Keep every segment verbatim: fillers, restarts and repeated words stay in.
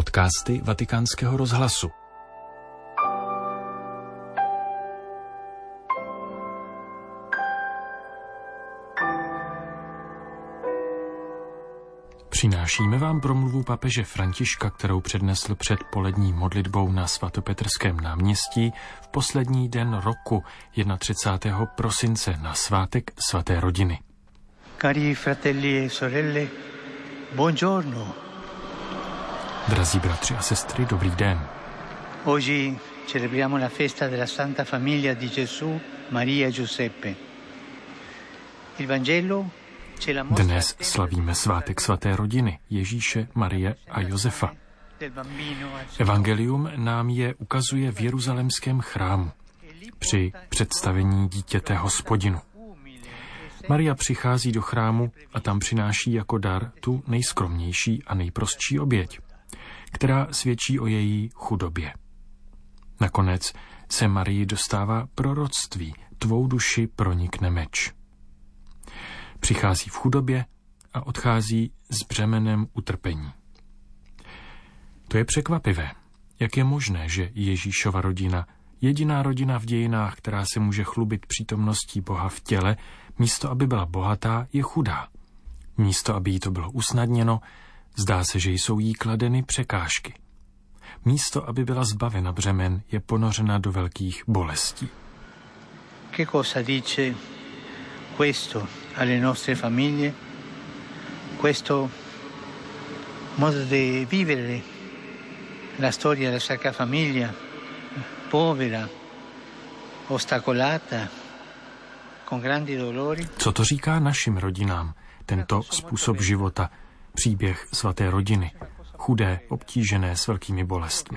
Podcasty Vatikánského rozhlasu. Přinášíme vám promluvu papeže Františka, kterou přednesl před polední modlitbou na svatopetrském náměstí v poslední den roku, třicátého prvního prosince, na svátek svaté rodiny. Cari fratelli e sorelle, buongiorno. Drazí bratři a sestry, dobrý den. Oggi celebriamo la festa della Santa Famiglia di Gesù, Maria e Giuseppe. Il Vangelo ce la mostra. Dnes slavíme svátek svaté rodiny Ježíše, Marie a Josefa. Evangelium nám je ukazuje v jeruzalémském chrámu při představení dítěte Hospodinu. Maria přichází do chrámu a tam přináší jako dar tu nejskromnější a nejprostší oběť, která svědčí o její chudobě. Nakonec se Marii dostává proroctví, tvou duši pronikne meč. Přichází v chudobě a odchází s břemenem utrpení. To je překvapivé. Jak je možné, že Ježíšova rodina, jediná rodina v dějinách, která se může chlubit přítomností Boha v těle, místo aby byla bohatá, je chudá. Místo aby jí to bylo usnadněno, zdá se, že jsou jí kladeny překážky. Místo aby byla zbavena břemen, je ponořena do velkých bolestí. Che cosa dice questo alle nostre famiglie? Questo modo di vivere la storia della Sacra Famiglia, povera, ostacolata, con grandi dolori. Co to říká našim rodinám, tento způsob života, příběh svaté rodiny, chudé, obtížené s velkými bolestmi?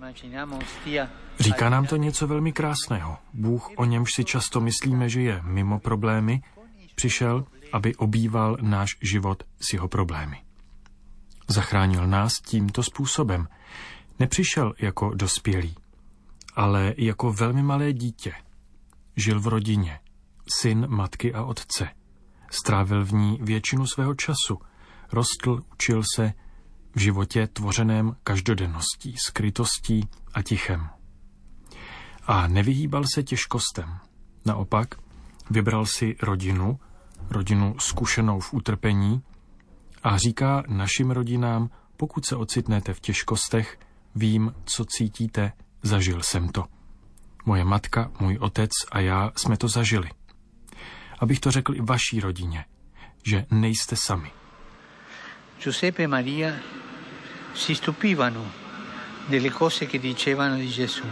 Říká nám to něco velmi krásného. Bůh, o němž si často myslíme, že je mimo problémy, přišel, aby obýval náš život s jeho problémy. Zachránil nás tímto způsobem. Nepřišel jako dospělý, ale jako velmi malé dítě. Žil v rodině, syn matky a otce. Strávil v ní většinu svého času. Rostl, učil se v životě tvořeném každodenností, skrytostí a tichem. A nevyhýbal se těžkostem. Naopak, vybral si rodinu, rodinu zkušenou v utrpení a říká našim rodinám, pokud se ocitnete v těžkostech, vím, co cítíte, zažil jsem to. Moje matka, můj otec a já jsme to zažili. Abych to řekl i vaší rodině, že nejste sami. Giuseppe e Maria si stupivano delle cose che dicevano di Gesù,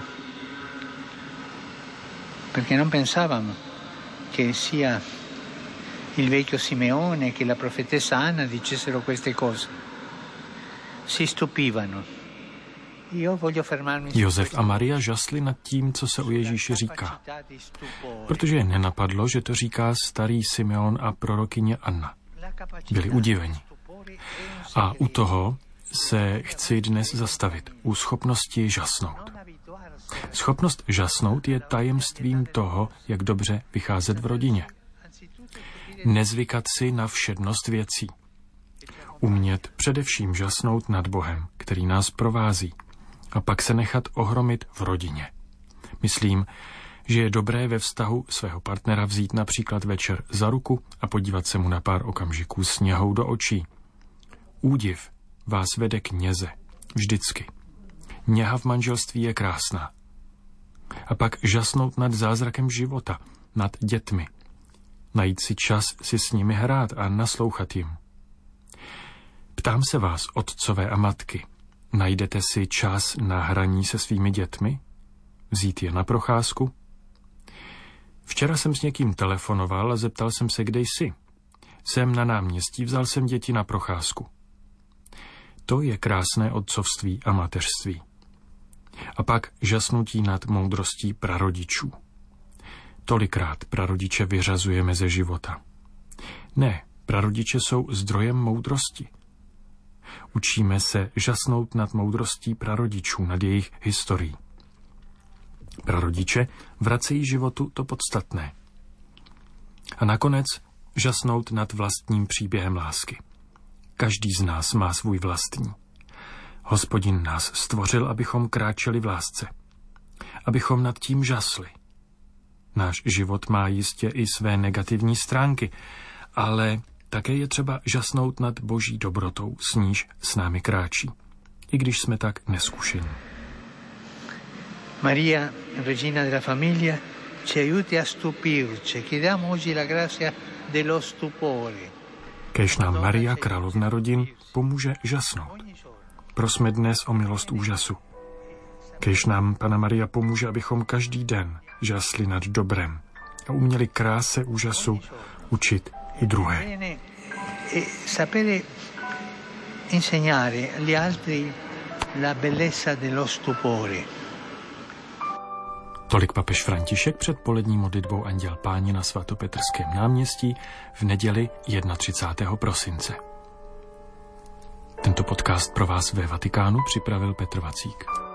perché non pensavano che sia il vecchio Simeone che la profetessa Anna dicessero queste cose. Si stupivano. Josef a Maria žasli nad tím, co se o Ježíši říká, protože je nenapadlo, že to říká starý Simeon a prorokyně Anna. Byli udiveni. A u toho se chci dnes zastavit, u schopnosti žasnout. Schopnost žasnout je tajemstvím toho, jak dobře vycházet v rodině. Nezvykat si na všednost věcí. Umět především žasnout nad Bohem, který nás provází, a pak se nechat ohromit v rodině. Myslím, že je dobré ve vztahu svého partnera vzít například večer za ruku a podívat se mu na pár okamžiků s něhou do očí. Údiv vás vede k něze. Vždycky. Něha v manželství je krásná. A pak žasnout nad zázrakem života, nad dětmi. Najít si čas si s nimi hrát a naslouchat jim. Ptám se vás, otcové a matky, najdete si čas na hraní se svými dětmi? Vzít je na procházku? Včera jsem s někým telefonoval a zeptal jsem se, kde jsi. Jsem na náměstí, vzal jsem děti na procházku. To je krásné otcovství a mateřství. A pak žasnutí nad moudrostí prarodičů. Tolikrát prarodiče vyřazujeme ze života. Ne, prarodiče jsou zdrojem moudrosti. Učíme se žasnout nad moudrostí prarodičů, nad jejich historií. Prarodiče vracejí životu to podstatné. A nakonec žasnout nad vlastním příběhem lásky. Každý z nás má svůj vlastní. Hospodin nás stvořil, abychom kráčeli v lásce, abychom nad tím žasli. Náš život má jistě i své negativní stránky, ale také je třeba žasnout nad Boží dobrotou, s níž s námi kráčí, i když jsme tak neskušení. Maria, regina della famiglia, ci aiuti a stupirci. Chiediamo oggi la grazia dello stupore. Kéž nám Maria, královna rodin, pomůže žasnout. Prosme dnes o milost úžasu. Kéž nám Panna Maria pomůže, abychom každý den žasli nad dobrem a uměli kráse úžasu učit i druhé. E sapere insegnare agli altri la bellezza dello stupore. Tolik papež František před polední modlitbou Anděl Páně na svatopetrském náměstí v neděli třicátého prvního prosince. Tento podcast pro vás ve Vatikánu připravil Petr Vacík.